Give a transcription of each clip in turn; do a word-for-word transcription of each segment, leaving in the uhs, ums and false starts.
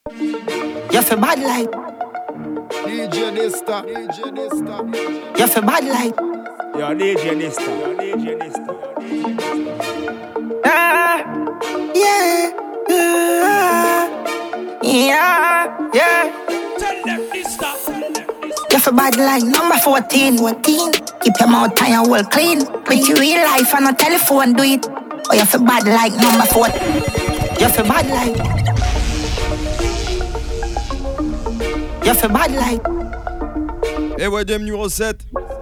You feel bad like D J Nista, D J Nista. You feel bad like Yo, D J Nista, yo, D J Nista. Ah, yeah, yeah, yeah, yeah. Tell them Nista. You feel bad like number fourteen. fourteen. Keep your mouth and your wall clean. With your real life and a telephone do it. Or you feel bad like number four. You feel bad like You feel bad like Et ouais, deuxième numéro sept.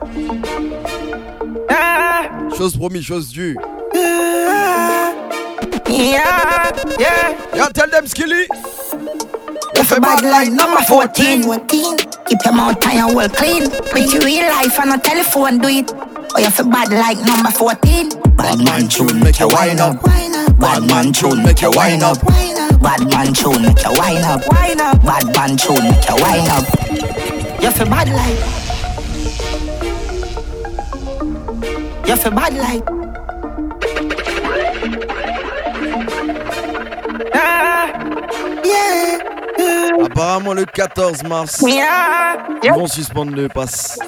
Ah, Chose promis, chose due. yeah, yeah, yeah. Yeah, tell them Skilly. You feel bad like number fourteen. fourteen. Keep your mouth and your wall clean. With your real life and a telephone do it. Or you feel bad like number fourteen. Bad man tune, make you wind up. Bad man tune, make you wind up. Bad man tune, make you wind up. Bad man tune, make you wind up. You feel bad like You feel bad like Ah, yeah, yeah, Apparemment, le quatorze mars, yeah, ils vont suspendre le pass.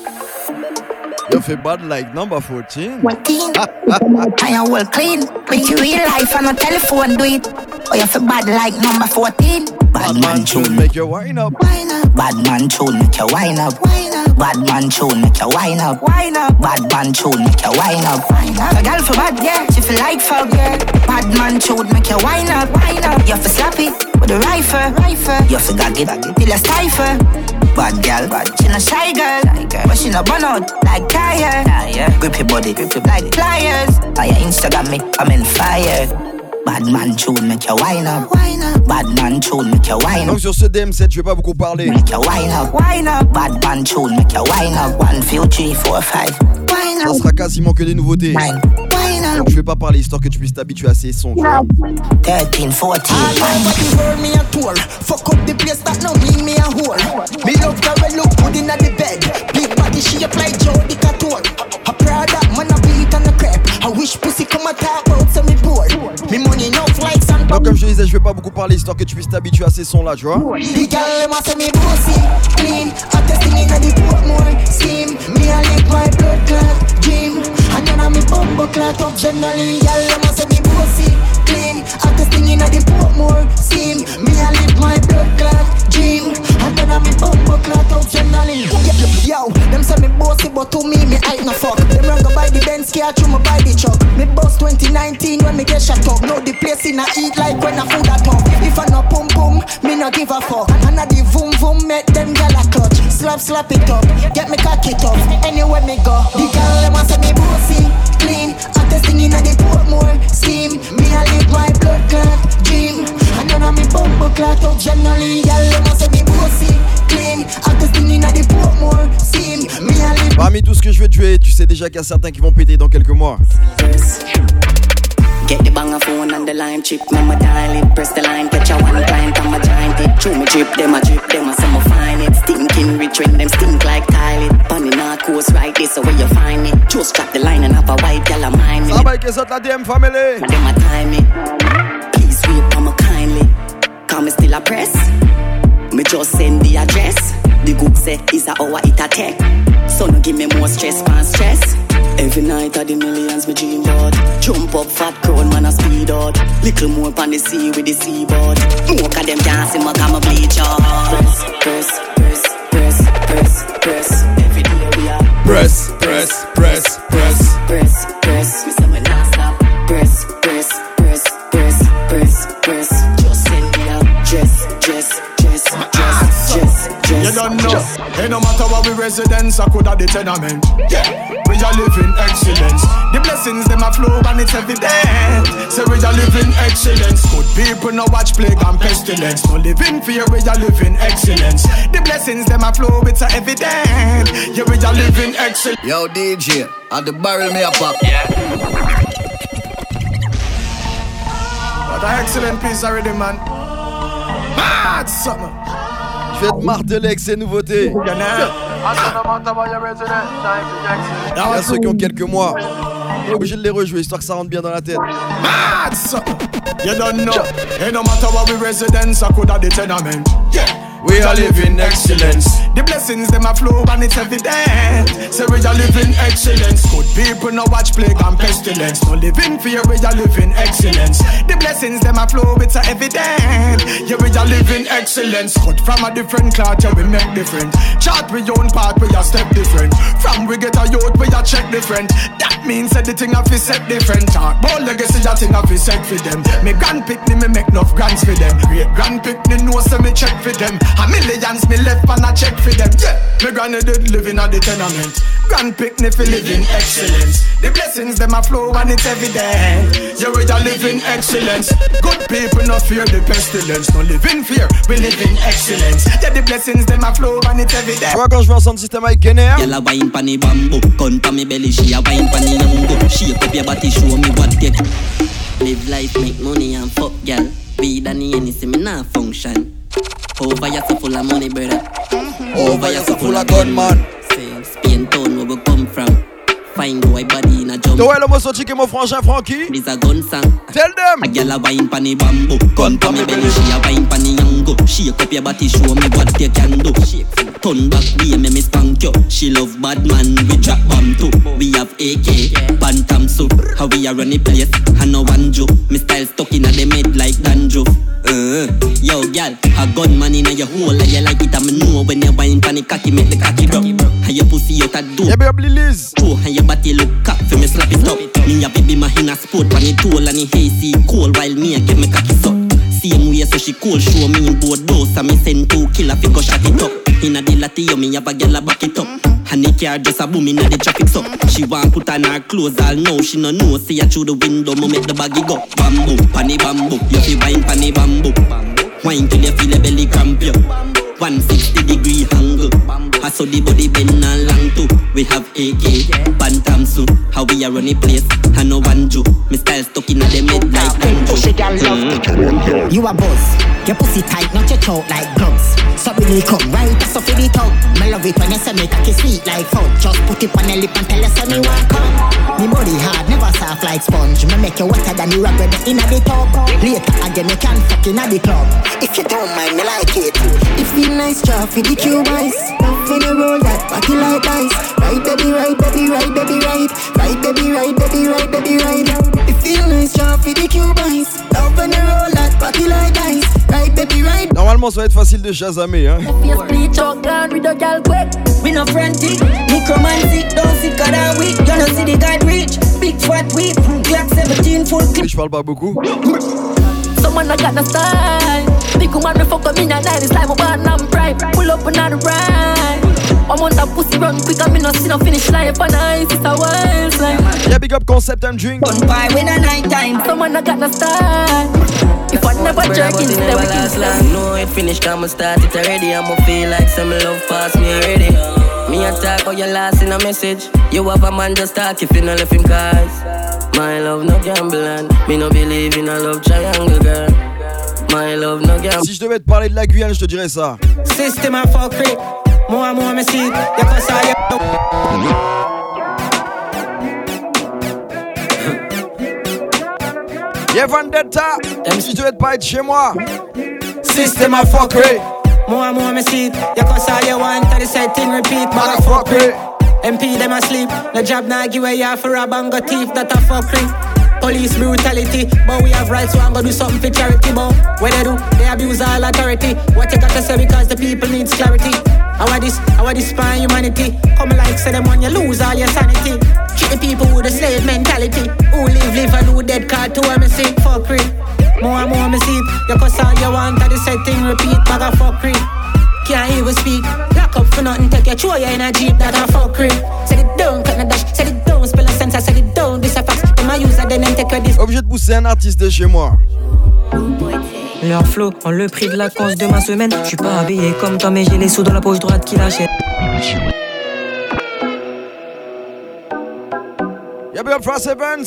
You feel bad like number fourteen. fourteen. And your wall clean. With your real life and a telephone do it. Or you feel bad like number fourteen. Bad man tune, make you wind up. Bad man tune, make you wind up. Bad man tune, make you wind up. Bad man tune, make you wind up. A girl for bad, yeah, she feel like fuck, yeah. Bad man tune, make you wind up. You feel slappy with a rifle. You feel gag it till a stifle. Bad girl, bad, she no shy girl, but she no burn out like tire. Grip your body, grip your like pliers. On your Instagram, me, I'm in fire. Bad man tune, make you wind up. Bad man tune, make you wind Donc up. sur ce D M sept, je vais pas beaucoup parler. Make you wind up, wind up. Bad man tune, make you wind up. One, few, three, four, five. Wind Ça up, sera quasiment que des nouveautés. wind, wind up. Donc je vais pas parler histoire que tu puisses t'habituer à ces sons. Tu vois. Thirteen, fourteen. All over the world me a tour. Fuck up the place that no mean me a whore. Me love her well look good inna the bed. Big body she up like Jody Couture. A Prada man a beat on the crepe. I wish pussy come a talk about so me bored. Me money enough like some. Donc comme je te disais, je vais pas beaucoup parler histoire que tu puisses t'habituer à ces sons là, tu vois. The girl them a say me bossy, clean. I testing inna the Portmore scheme. Me a lick my blood clot dream. And then I me bumbo clot up generally. Girl them a say me bossy, clean. I testing inna the Portmore scheme. Me a lick my blood clot dream. And then I me bumbo clot up generally. Yo, them say me bossy, but to me me ain't no fuck. Them run go buy the Benz car, through me buy the truck. Me boss twenty nineteen when me get shut up. Now the place in a eat like when I food at home. If I no pum pum, me no give a fuck. And I the vroom vroom make them gyal a clutch. Slap slap it up, get me cock it up. Anywhere me go, the gyal them a say me bossy, clean. I'm testing inna the Portmore scheme. Me a live my blood clot dream. And then I me bumbo clot up generally. Gyal them a say me bossy, clean. I'm testing inna the Portmore scheme. Me a live. Parmi tout ce que je vais te jouer, tu sais déjà qu'il y a certains qui vont péter dans quelques mois. Get the banger phone and the line chip. Mama dial it, press the line, catch a one client. I'm a giant it. Chew me drip, them a drip, them a summer find it. Stinking rich when them stink like Kylie. Bunny narcos right this, so where you find it. Just drop the line and have a white girl a mind me. Ça va avec les autres, la D M family. Them a time it. Please wait for me kindly. Cause me still a press. Me just send the address. The good say is a hour it a tech. So no give me more stress, man stress. Every night of the millions me dream about. Jump up fat crown man a speed out. Little more on the sea with the seaboard. More of them dancing my come a bleach out. Press, press, press, press, press, press. Every day we are Press, press, press, press. press, press. Me say me not stop. Press, press, press, press, press, press. Just send me out. Dress, dress, dress, dress, dress, dress. You don't know. Hey, no matter what we residents, I could have the tenement. Yeah, we are living excellence. The blessings them a flow and it's evident. So we are living excellence. Good people no watch plague and pestilence. No living fear, we are living excellence. The blessings them a flow, it's a evident. Yeah, we are living excellence. Yo, D J, at the barrel me a pop. Yeah. What an excellent piece already, man. Mad summer. Je vais te marteler avec ces nouveautés. Il y a ceux qui ont quelques mois. On est obligé de les rejouer histoire que ça rentre bien dans la tête. Mad son. You don't know. Hey, no matter what we residents, I could have the tenement. Yeah. We are living excellence. The blessings them a flow and it's evident. So we are living excellence. Good people no watch plague and pestilence. No living fear, we are living excellence. The blessings them a flow, it's a evident. Yeah, we are living excellence. Cut from a different cloth, yeah, we make different. Chart we own part, we are step different. From we get a youth, we are check different. That means that the thing have to set different. Talk about legacy, that thing have to set for them. Me grand pickney, me make enough grants for them. Great grand pickney, know so me check for them. A millions me left and I check for them. Yeah, me granny did living at the tenement. Grand picnic for living excellence. The blessings them a flow and it's evident. Yeah, we are living excellence. Good people no fear the pestilence. No live in fear, we live in excellence. Yeah, the blessings them a flow and it's evident. Tu vois quand je vais en sound system avec Kenner. Y'a la wine pan the bamboo. Gun pa me belly, she a wine pan the yango. Shake up your body, show me what you live life, make money and fuck gal. Weed and the any see me nah function. Over ya so full of money, brother. Over ya so full of gunman. Same Spain town where we come from. Fine boy body in a jump. Toi le mosso chique mon frangin Frankie. This a gun song. Tell them. A gyal a wine pan the bamboo. Gun pa me belly, she a wine pan the yango. Shake up your body, show me what you can do. Turn back, we me me spank you. She love bad man, we drop bomb too. We have A K, Bantam suit. How we a run the place, and no one joke. Me style stuck in a the mid like dandruff. Uh, yo, gal, a gunman in a your hole, and you like it, I me know when you wine pan the cocky, make the cocky drop. And your pussy out a door. Yeah, baby, Liz. Oh, and your body look cap, for me slap it up. Me a baby my in a sport, pan it tool and it hazy cold, while me a get me cocky suck. Same way so she cool, show me in board doors, and me send two killer fi go shot it up. Inna the latty, me have a gyal a back it up. And the car just a boom inna the traffic so. She want put on her clothes all now, she no know. See her through the window, me make the baggy go. Bamboo, panny bamboo, you fi wine panny bamboo. Wine till you feel the belly cramp you. one sixty degree angle. I saw the body bend and long too. We have A K, Bantam suit. How we a run the place, and no one Jew. Me style stuck in the mid like Pussy girl love. You a buzz. Your pussy tight, not your throat like gloves. So really come right, that's so for the talk. Me love it when you say me cocky sweet like fudge. Just put it on your lip and tell you say me want come. Me body hard, never soft like sponge. Me make you wetter than the rubber inna the tub. Later again, you can fuck inna the club. If you don't mind, me like it. It feel nice, job for the cube eyes. Love when you roll that body like ice. Right baby, right baby, right baby, right. Right baby, right baby, right baby, right. It feel nice, job for the cube eyes. Love when you roll that body like ice. Right baby, right. Normalement ça va être facile de chasamer hein. We no frantic, necromantic, don't see God and we. You know see the God reach, big fat weed, Glock seventeen full clip. Je parle pas beaucoup. Someone I got no style. Big woman me fuck up in a night, it's like my bad and pride. Pull up another ride. I'm on that pussy run quick, I me no see no finish line. Up on ice, it's a wild slime. Yeah, big up concept and drink. Gun pie when a night time. Someone I got no style. If I never jerk in, stay with you. No, it finished, I'ma start it already. I'ma feel like some love pass me already. Me attack or you last in a message. You have a man just talk if you no left him cause. My love no gamble and me no believe in a love triangle girl. My love no gamble. Si je devais te parler de la Guyane, je te dirais ça. System a fuck rip. More and more me see. You can say you. Yeah, Vendetta. Si je devais te parler de chez moi. System a fuck rip. More and more me see it. You can say you want to the same thing repeat. Motherfucker. M P them asleep. No job now give away half for a bang of thief. That a fuckery. Police brutality, but we have rights, so I'm gonna do something for charity. But what they do, they abuse all authority. What you gotta say because the people needs clarity. How this, how this spine humanity? Come like say them when you lose all your sanity. Treat the people with a slave mentality. Who live, live and who dead card to M C. Fuckery. More and more me see it. You cause all you want to the same thing repeat. Bag of fuckery. Can't even speak. Lock up for nothing, take your throw you in a jeep. That a fuckery. Set it down, cut the dash. Set it down, spell a sensor. Set it down, this a fax. Them a user, then take your this. Obligé de pousser un artiste de chez moi. Leur flow, en le prix de la cause de ma semaine. J'suis pas habillé comme toi, mais j'ai les sous dans la poche droite qui l'achète. Y'a bien Frost Evans.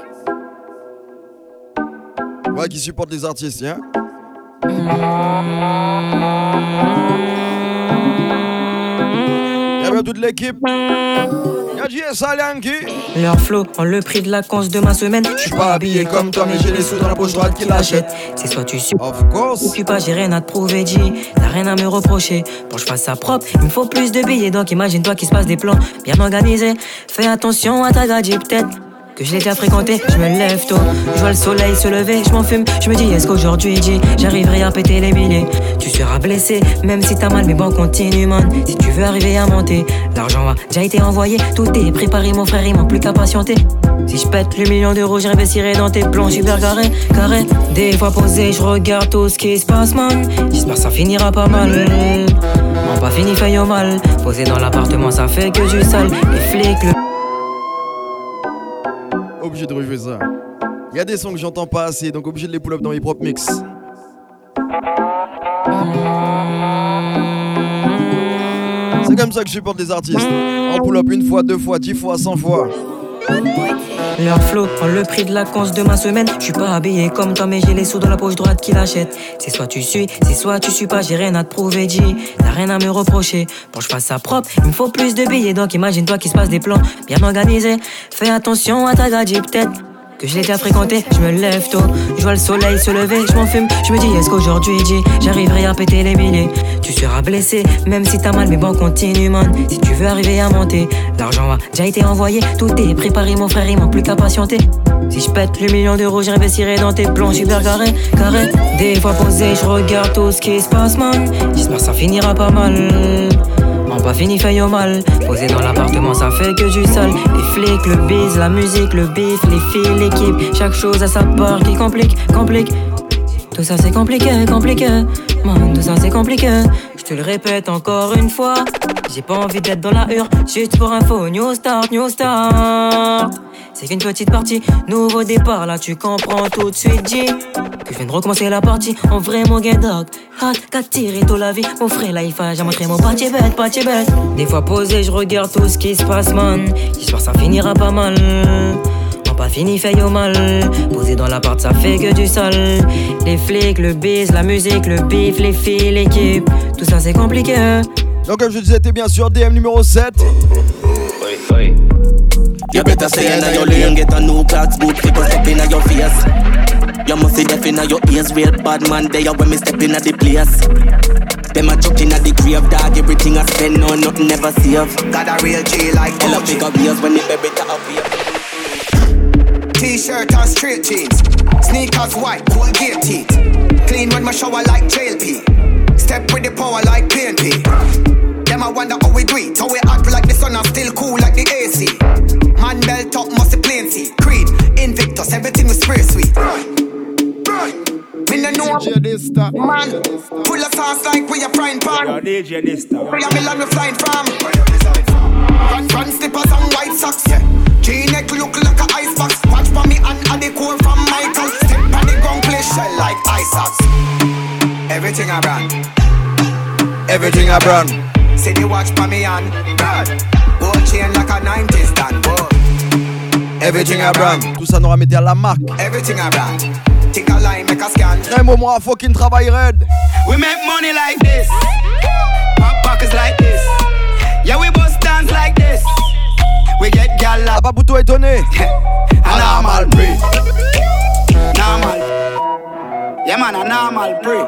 Ouais, qui supporte les artistes, hein. Y'a à toute l'équipe. Y'a J S Alianki. Leur flow en le prix de la conce de ma semaine. Je suis pas habillé comme toi, mais j'ai les sous dans la poche droite qui l'achète. C'est soit tu suis, of course. Ou tu pas, j'ai rien à te prouver, G. T'as rien à me reprocher. Pour que je fasse ça propre, il me faut plus de billets. Donc imagine-toi qu'il se passe des plans bien organisés. Fais attention à ta gadget, peut-être que je l'ai déjà fréquenté, je me lève tôt. Je vois le soleil se lever, je m'en fume. Je me dis, est-ce qu'aujourd'hui, G, j'arriverai à péter les milliers? Tu seras blessé, même si t'as mal, mais bon, continue, man. Si tu veux arriver à monter, l'argent a déjà été envoyé. Tout est préparé, mon frère, il manque plus qu'à patienter. Si je pète le million d'euros, je réinvestirai dans tes plans super carrés, carrés. Des fois posé, je regarde tout ce qui se passe, man. J'espère que ça finira pas mal. Non, pas fini, fait au mal. Posé dans l'appartement, ça fait que du sale. Les flics, le... Obligé de rejouer ça. Y'a des sons que j'entends pas assez, donc obligé de les pull up dans mes propres mix. C'est comme ça que je supporte les artistes. En pull up une fois, deux fois, dix fois, cent fois. Leur flow prend le prix de la conce de ma semaine. Je suis pas habillé comme toi, mais j'ai les sous dans la poche droite qui l'achète. C'est soit tu suis, c'est soit tu suis pas, j'ai rien à te prouver, G. T'as rien à me reprocher. Pour que je fasse ça propre, il me faut plus de billets. Donc imagine-toi qu'il se passe des plans bien organisés. Fais attention à ta gadget, peut-être que je l'ai déjà fréquenté, je me lève tôt. Je vois le soleil se lever, je m'en fume. Je me dis, est-ce qu'aujourd'hui, G, j'arriverai à péter les milliers? Tu seras blessé, même si t'as mal, mais bon, continue, man. Si tu veux arriver à monter, l'argent a déjà été envoyé. Tout est préparé, mon frère, il manque plus qu'à patienter. Si je pète le million d'euros, je réinvestirai dans tes plans super carrés, carrés. Des fois posé, je regarde tout ce qui se passe, man. J'espère que ça finira pas mal. Non, pas fini, fait au mal. Posé dans l'appartement, ça fait que du sale. Les flics, le bise, la musique, le bif, les filles, l'équipe. Chaque chose à sa part qui complique, complique. Tout ça c'est compliqué, compliqué. Man, tout ça c'est compliqué. Je te le répète encore une fois. J'ai pas envie d'être dans la hure. Juste pour info, new start, new start. C'est qu'une petite partie, nouveau départ. Là tu comprends tout de suite, G. Que je viens de recommencer la partie. En vrai mon gars dog. Hot, qu'à tirer toute la vie. Mon frère là il faut j'ai montré mon parti bête, parti bête. Des fois posé, je regarde tout ce qui se passe, man. J'espère que ça finira pas mal. Pas fini, fait au mal. Posé dans l'appart, ça fait que du sale. Les flics, le bise, la musique, le bif, les filles, l'équipe. Tout ça c'est compliqué. Donc comme je disais, t'es bien sûr D M numéro sept. Oui, oui. You better stay in your lane, get a new clocks, boot, pick us up in your face. You must see deaf in your ears, real bad man there when me step in at the place. Them a chucking at the grave, dog, everything I spend, no, nothing never save. Got a real G like Hell, pick up ears when the baby to appear. T-shirt and straight jeans, sneakers white, Colgate teeth. Clean when my shower like jail pee. Step with the power like P N P. Them I wonder how we do it, how we act like the sun and still cool like the A C. Man belt up, must be plain see. Creed, Invictus, everything we spray sweet. Me no know, man. Full of sauce like we a frying pan. We a million we flying from. Front, front slippers and white socks, yeah. G-neck look like a icebox. Watch for me and add the core from Michael. Step on the ground, play shell like ice socks. Everything I brand. Everything I brand. See the watch for me and brand. Gold chain like a nineties dan. Everything I brand. Tout ça nous remettait à la marque. Everything I brand. Take a line, make a scan. Un moment à fucking travail red. We make money like this. Pop pockets like this. Yeah, we bust dance like this. We get gal up. Pas plutôt étonné. A normal pre. Normal. Yeah man, a normal pre.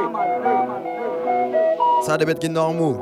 Ça a des bêtes qui normaux.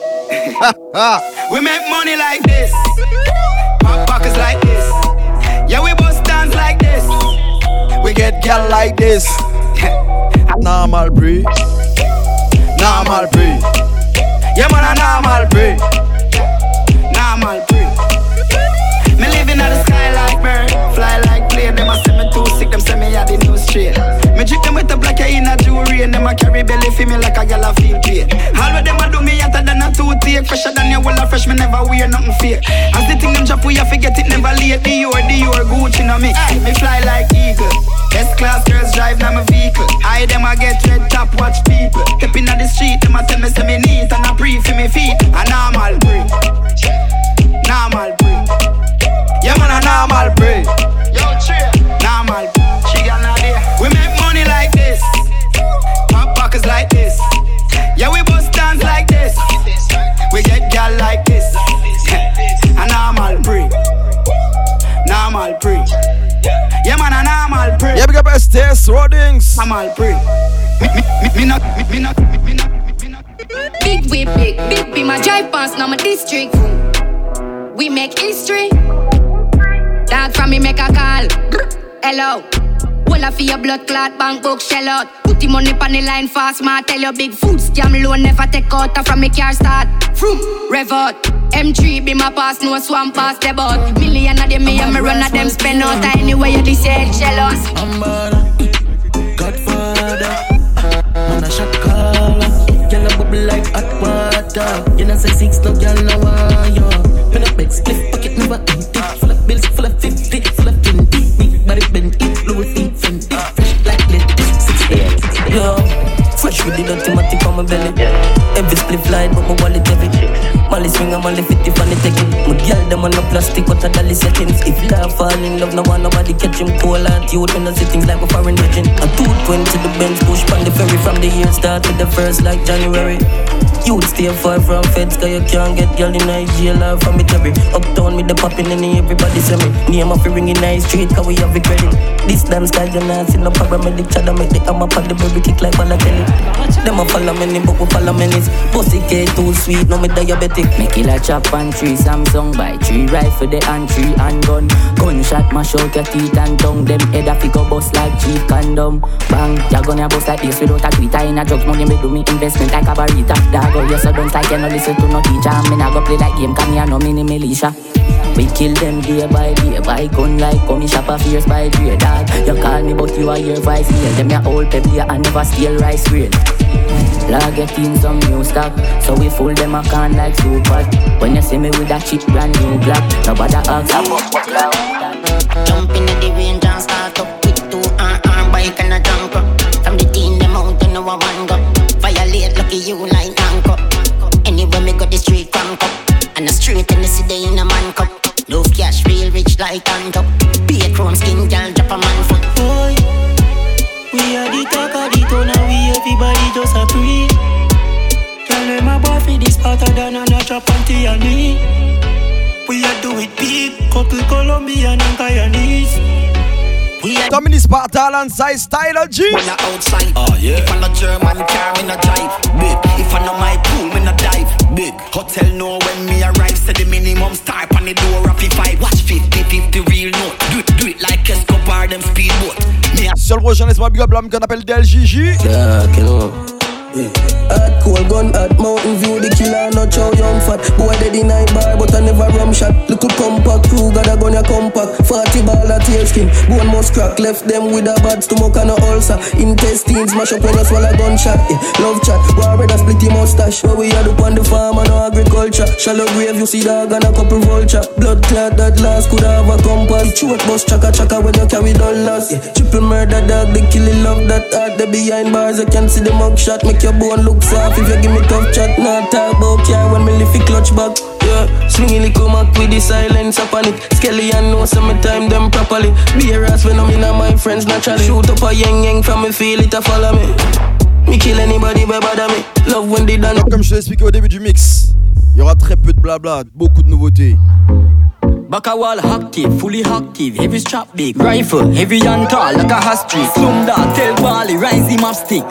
We make money like this. Pop pockets like this. Yeah, we bust dance like this. We get gal like this. Normal pre. Normal pre. Yeah man, a normal pre. Normal pre. Me living on the sky like bird, fly like plane. Them a say me too sick, them say me had the new straight. Me drip them with a black in a jewelry, and them a carry belly for me like a gal a feel pain. All of them a do me hotter than a toothache, fresher than your well a fresh. Me never wear nothing fake. As the thing them drop, we a forget it never late. Dior, Dior, Gucci no me. Me fly like eagle. S-class girls drive now my vehicle. I them a get red top, watch people. Step in the street, them a tell me say me neat and a pre for me feet. A normal breed. Normal breed. Yeah man, a normal breed. Yo, chill. Normal. She got no idea. We make money like this. Pop pockets like this. Yeah, we bust dance like this. We get gal like this. I'm all free. Me, me, me, me not, me, me not, me, me not, me not. Big whip, big, big be my drive past, now my district. We make history. Dog from me make a call. Hello. Well, I feel your blood clot, bank book shell out. Put the money on the line fast, ma tell you big food scam loan never take out from me car start. Vroom, rev out. M three be my pass, no swamp pass the boat. Million of them me and me run of them spend out. Anyway you this say jealous. I'm bad, Godfather. Man a shot caller. Y'all a bubble like hot water. You know say six no y'all no wire. Pen up big split pocket never empty. Full of bills, full of fifty, full of twenty. Big body bend it, Louis V Fendi. Fresh like lit, six eight. Yo, fresh with the automatic on my belly. Every split fly, but my wallet heavy. Molly swing and Molly fifty for the taking. My girl them on no plastic, what a dolly settings. If love fall in love, no one nobody catch him. Cool and youth when I see things like a foreign virgin. A two twenty the Benz push on the ferry from the year start to the first like January. You'd stay far from feds, cause you can't get girl in Nigeria from it every. Uptown with the poppin' and everybody say me. Name of the ring in nice street, cause we have it credit. This damn style you not see no paramedic. Chada make the hammer pop the baby kick like Balotelli. Them a follow me, but we follow me. Pussy K too sweet, no me diabetic. Make it a chop and tree, Samsung buy three rifle the and three and gun. Gunshot mash out your teeth and tongue. Them head a figure bust like cheap condom. Bang, you gonna bust like this without a tweeter. In a drugs money me do me investment like a barita. Dog out your sudden like you no listen to no teacher. Me nah go play like game, come here no mini militia. We kill them day by day, by gun like come shop a fierce by trade. Dog, you call me but you are your vice here. Them your old pepper and never steal rice grain. Log get in some new stock, so we fool them a can like super. When you see me with that cheap brand new black, nobody ask about what cloud. Jump in the range and start up with two arm arm bike and a jump up. From the team them out to know a one go. Violate lucky you like anchor. Anyway me got the street crank up, and the street in the city in a man cup. No cash real rich like hand up. Be a chrome skin girl drop a man foot. Boy, we are the talk of the town and we everybody just a pre. Tell them my boy for this part of than a chop and tea and me. We are do it big, couple Colombian and Guyanese. Dominic Sparta alongside Styler G. When I outside, oh yeah. If I no German car, me no drive. Big. If I no my pool, me no dive. Big. Hotel know when me arrive, say the minimum start on the door of the five. Watch fifty fifty real note. Do it, do it like Escobar, them speedboat. Seul prochain, laisse-moi big up l'homme qu'on appelle D L J J. Yeah, kill Hot cold gun, hot mountain view, the killer not chow young fat. Boy dead in night bar, but I never rum shot. Little compact crew, got a gun ya compact. Forty ball at tail skin, bone must crack. Left them with a bad stomach and a ulcer. Intestines mash up when you swallow gunshot. Yeah, love chat, war red a split the mustache. Where we had up on the farm and no agriculture. Shallow grave, you see dog and a couple vulture. Blood clot that last could have a compass. Choke bus chaka chaka when you carry dollars. Yeah, triple murder dog, they kill it, love that heart. They behind bars, you can see the mug shot. Make your bone look soft if you give me tough chat. Not talk about care when me lift it clutch back. Yeah, swinging the comac with the silence upon it. Skelly and know some time them properly. Be a ass when I'm in my friends naturally. Shoot up a yang yang from me feel it a follow me. Me kill anybody by bother me. Love when they done. Comme je te l'ai expliqué au début du mix, il y aura très peu de blabla, beaucoup de nouveautés. Backawall active, fully active, heavy strap big rifle, heavy and tall like a hostage. Slum dog, tell Bali, rise him up stick.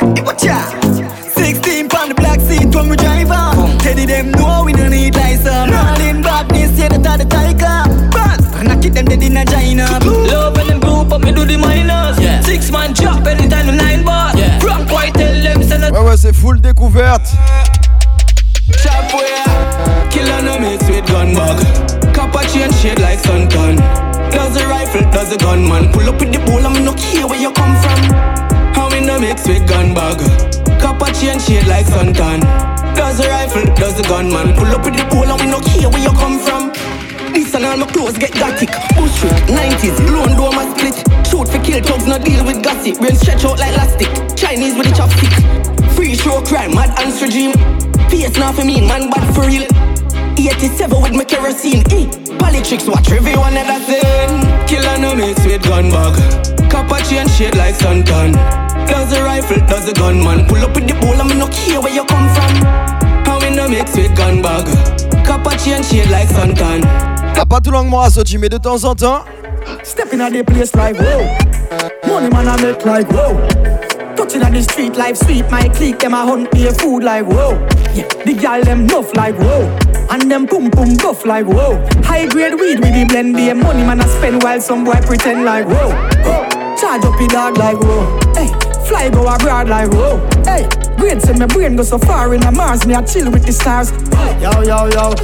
sixteen pound the black seat when we drive on. Teddy them know we don't need license. Rolling badness, yeah, that are the tiger. But knock it them dead in a China. Love when them group up, me do the minors. Yeah. Six man chop anytime the nine bars. Yeah. Frank White tell them send a. Ouais ouais, c'est full découverte. Chop where killer no mix with gun bag. Copper chain shade like suntan. Does the rifle, does the gunman. Pull up with the bowl and me no care where you come from. How me no mix with gun bag. Copper chain shade like suntan. Does the rifle, does the gunman. Pull up with the bowl and we no care where you come from. This and all my clothes get gothic. Bush street, nineties, lone door my split. Shoot for kill thugs, no deal with gossip. Brain stretch out like elastic. Chinese with the chopstick. Free show crime, mad and regime. Face now for me, man bad for real. eighty-seven with my kerosene. E. Politics watch review another thing. Killer no mix with gun bag. Copper chain shade like suntan. Does the rifle, does the gunman. Pull up with the bowl and me no care where you come from. How we no mix with gun bag. Copper chain shade like suntan. T'as pas tout longuement à sortir, mais de temps en temps. Step in a the place like whoa. Money man I make like whoa. out in the street, life sweet. My clique, them a hunt me a food like whoa. Yeah, the gal them nuff like whoa. And them pum pum buff like whoa. High grade weed with the blend, the money man I spend while some boy pretend like whoa. whoa. Charge up the dog like whoa. Hey, fly go abroad like whoa. Hey, great say my brain go so far in a Mars, me I chill with the stars. Yo yo yo.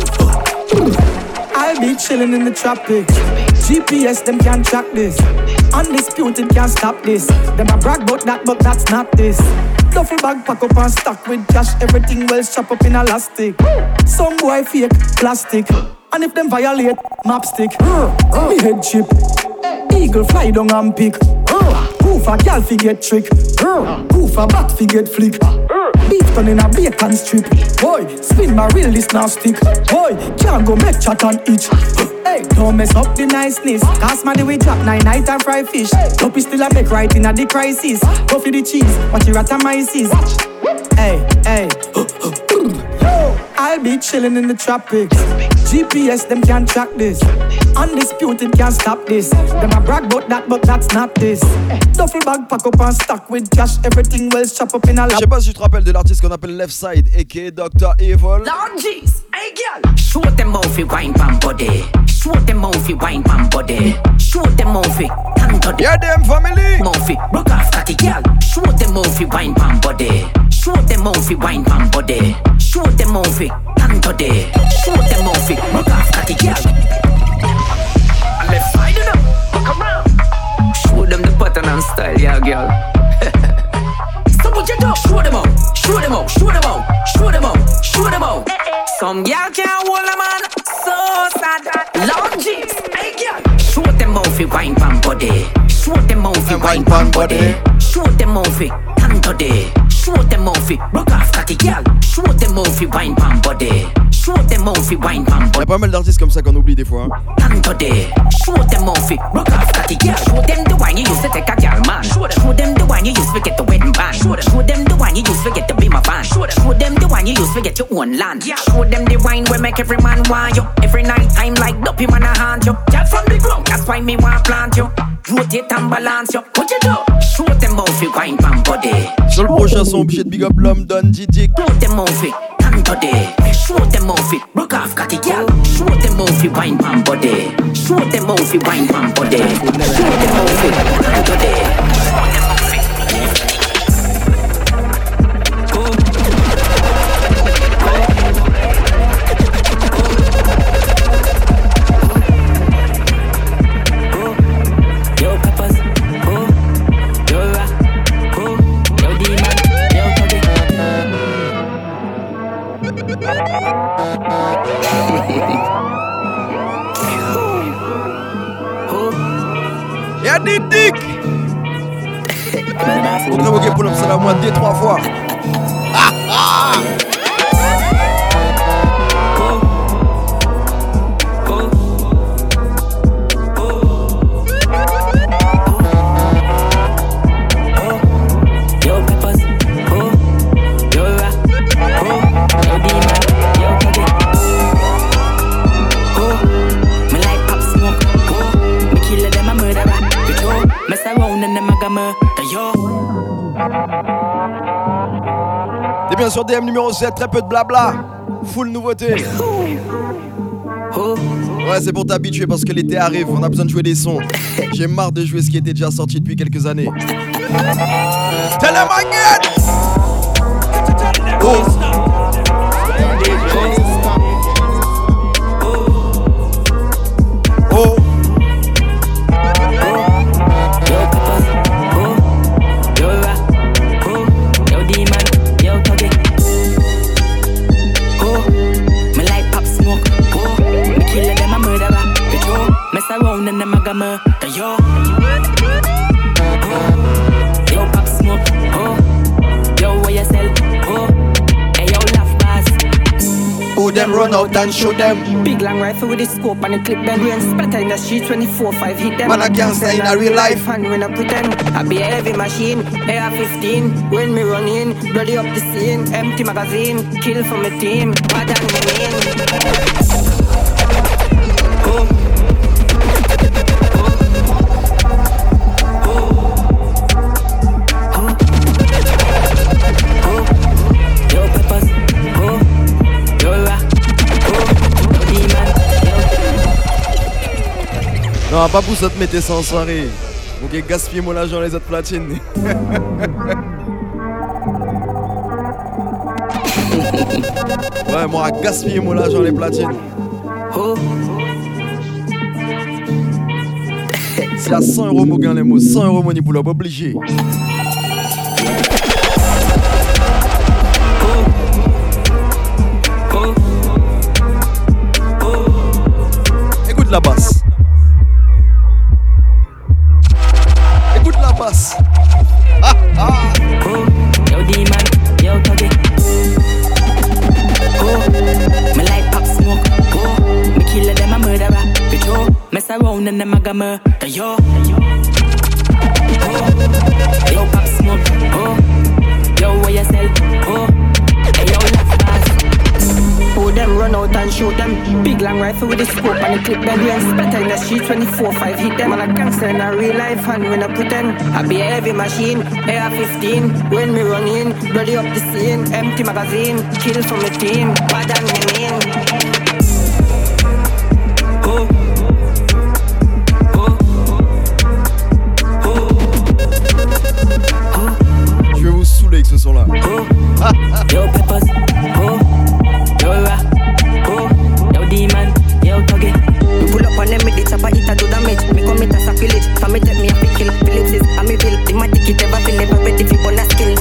I'll be chilling in the tropics. G P S them can't track this. Undisputed can't stop this. Them a brag about that, but that's not this. Duffel bag pack up and stack with cash. Everything well strap up in elastic. Some boy fake plastic. And if them violate, map stick. Me head chip. Eagle fly down and pick. Poof a gal fi get trick. Poof a bat fi get flick. Beat on in a bacon strip. Boy, spin my reel this now stick. Boy, can't go make chat and itch. Hey, don't mess up the niceness. Cast my the way drop nine night and fry fish. Dopey still a make right in a the crisis. Go for the cheese, watch your ratamyces. Hey, hey. I'll be chilling in the tropics. G P S them can't track this. Undisputed can't stop this. Them a brag about that, but that's not this. Duffel bag pack up and stack with cash. Everything well strap up in a lap. Je sais pas si tu te rappelles de l'artiste qu'on appelle Left Side, aka doctor Evil. Lord jeez, hey girl. Show them how fi wine pam body. Show them how fi wine pam body. Show them how fi tanto de. Yeah them family. How fi broke off catty girl. Show them how fi wine pam body. Show them how fi wine pam body. Show them how fi tanto de. Show them how fi broke off catty girl. Left side it up, come around. Show them the pattern and style, yeah, girl. So what you do? Show them out, show them out, show them out, show them out, show them out. Some girl can't hold a man, so sad. Long jeans, hey girl. Show them how fi wine pan body. Show them how fi wine pan body. Show them how fi tanto de. Show them how fi broke off catty girl. Show them how fi wine pan body. Show them how fi wine pan body. Y'a pas mal d'artistes comme ça qu'on oublie des fois. Hein. Tanto de. Show them how fi broke off catty girl. Show them the wine you used to take a girl man. Show them, show them the wine you used to get the wedding band. Show them, show them the wine you used to get the be my fan. Show them, show them the wine you used to get your own land. Show them the wine we make every man want you. Every night time like dopey man a haunt you. Girl from the ground, that's why me want plant you. Rotate and balance you. What you do? Show them how fi wine pan body. Sur le prochain son, obligé de big up l'homme Don D J. Show them how fi tanto de. Show them how fi broke off catty girl. Show them how fi wine pan body. Show them how fi wine pan body. Show them how fi tanto de. Show them how fi. Y'a des dicks. On va moquer pour l'homme, c'est la moitié trois fois. Ah ah. T'es bien sur D M numéro sept, très peu de blabla. Full nouveauté. Ouais, c'est pour t'habituer parce que l'été arrive, on a besoin de jouer des sons. J'ai marre de jouer ce qui était déjà sorti depuis quelques années. Tell them again. Oh. Oh. Around and them a go murder yo. Yo pop smoke, oh. Yo where you sell, oh. Hey yo laugh pass. Who them run out and shoot them? Big long rifle with the scope and the clip then rain splatter in the street twenty-four five hit them. Man I can't say in a real life. And when I pretend I be a heavy machine, A R fifteen. When me run in, bloody up the scene. Empty magazine, kill from the team. Bad and me mean. Oh. Non, pas pour ça te mettre ça en soirée. Ok, gaspiller mon argent les autres platines. Ouais, moi, gaspiller mon argent les platines. Oh. C'est à cent euros, mon gars, les mots. cent euros, mon pour l'homme obligé. Écoute la basse. Écoute la basse. Ah ah. Oh, yo demon, yo tuggy. Oh, me like pop smoke. Oh, me killer them a murderer. Bitch, oh, mess around and them a ga murder. Yo, oh, yo pop smoke. Oh, yo where you sell? Oh, hey yo laugh fast. Oh, them run out and shoot them. Big long rifle with the scope and the clip them. We ain't splatter in the street twenty-four five hit them. And a gangster in a real life and when I pretend I be a heavy machine, A R fifteen. When me run in, bloody up the scene. Empty magazine, kill from the team. Bad and me mean. Oh, oh, oh, oh. Je vais vous saouler avec ce son-là. Oh, yo peppers. Oh, yo ra. Oh, yo demon. Yo tuggy. Me pull up on them with the chopper, it a do damage. Me commit a sacrilege. For me take me a pick kill. Phillips is a me bill. The my ticket ever feel never ready for bonus skill.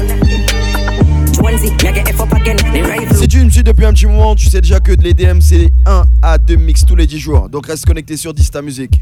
Jonesy, me get F up again. The rifle. Si tu me suis depuis un petit moment, tu sais déjà que de l'E D M c'est un à deux mix tous les dix jours. Donc reste connecté sur Dista Music.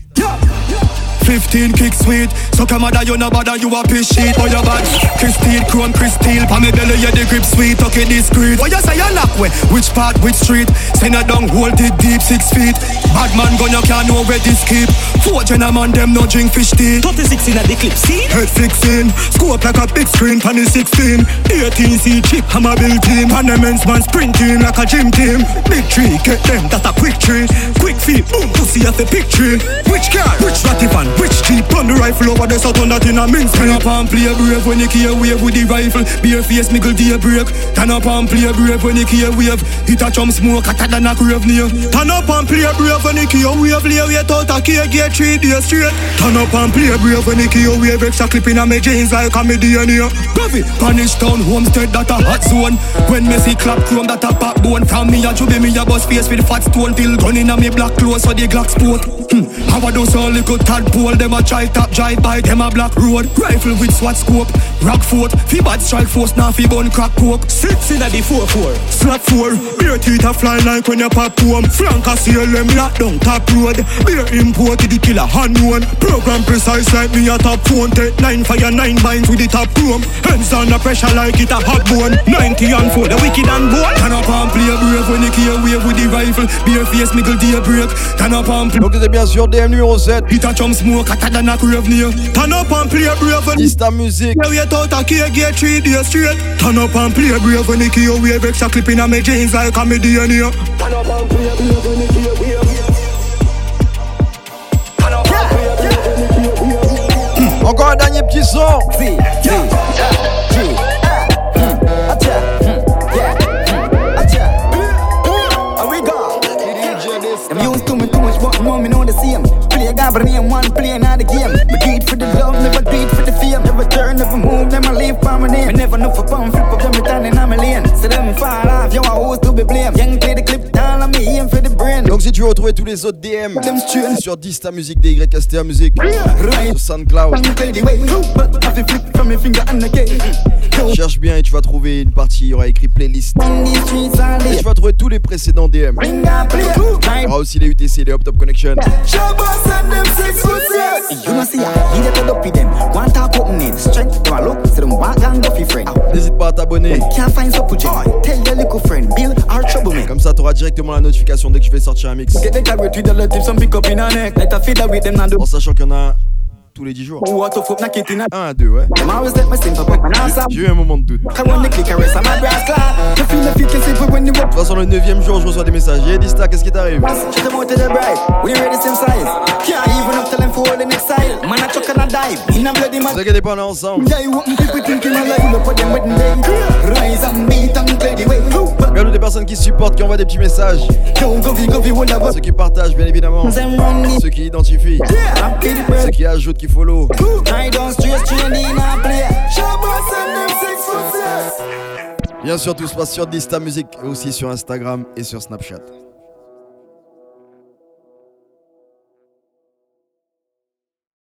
fifteen kick sweet, so come on, you no bother, you a piss shit. Oh, your bad, Christine, Chrome, Crystal. Pa me belly, yeah, the grip sweet, okay, discreet. What you say, you lock way? Which part, which street? Send a down, hold it deep, six feet. Bad man gun, you can't know where this keep. Four gentlemen, them no drink fish tea. thirty-six in a the clip, see? Head fixing, scope like a big screen, pan the sixteen. eighteen C chip, hammer built team. And the men's man sprint team like a gym team. Big tree, get them, that a quick tree. Quick feet, boom, pussy at the big tree. Which car, which ratty van? Which cheap on the rifle over the south on that in a mince. Turn up and play brave when you key wave with the rifle. Bare face niggle day break. Turn up and play brave when you key wave. Hit a chum smoke hotter than a crave near. Turn up and play brave when you key wave. Lay wait out a key get three days straight. Turn up and play brave when you key wave. Extra clip in a me jeans like a me D N A. Coffee, Punish Town, Homestead that a hot zone. When me see clap chrome that a pop bone. From me a chubby me a bust face with fat stone. Till gun in a me black clothes so the Glock sport. Hmm, how I do so little tadpole. Them a try top drive by them a black road. Rifle with SWAT scope. Rock fort. Fi bad strike force now fi bun crack coke. Six in a the four four. Slap four. Beer teeth a fly like when you pop home. Flank a seal them lock down top road. Beer imported the killer hand one. Program precise like me a top phone. Take nine fire nine binds with the top chrome. Hands under pressure like it a hot bone. Ninety and four the wicked and bold. Turn up and play brave when you key wave with the rifle. Beer face niggle day break. Turn up and play. Donc t'es bien sûr D M numéro sept. Hit a chum smoke hotter than a crave near. Turn up and play brave when Dista Music. Yeah, wait out a key get three days straight. Turn up and play brave when you key wave. Extra clip in a me jeans like a me D N A. Turn up and play brave when you key wave. Turn up and play brave when you key wave. Encore un dernier petit son. Si, si, si. I'm used to me too much, but no, me know the same. Play a gabber name, one play another game. But do it for the love, never do it for the fame. Never turn, never move, never leave for my name. Me never know for pound, flip up, them returning on my lane. So them fall off, yo, I always to be blamed. Young play the clip down on me, aim for the brain. Donc si tu veux retrouver tous les autres D M sur Dista Music, D Y S T A Music, sur SoundCloud, cherche bien et tu vas trouver une partie, il y aura écrit playlist. Et tu vas trouver tous les précédents D M. Il y aura aussi les U T C, les Up Top Connection. N'hésite pas à t'abonner. Comme ça t'auras directement la notification dès que je vais sortir un mix. En sachant qu'il y en a tous les dix jours. Un à deux, ouais. J'ai eu un moment de doute. De toute façon, le neuvième jour, je reçois des messages. Hey Dista, qu'est-ce qui t'arrive? Ne vous inquiétez pas, on est ensemble. Regardez, personnes qui supportent, qui envoient des petits messages. Ceux qui partagent, bien évidemment. Ceux qui identifient. Ceux qui ajoutent, qui follow. Bien sûr, tout se passe sur Dista Music et aussi sur Instagram et sur Snapchat.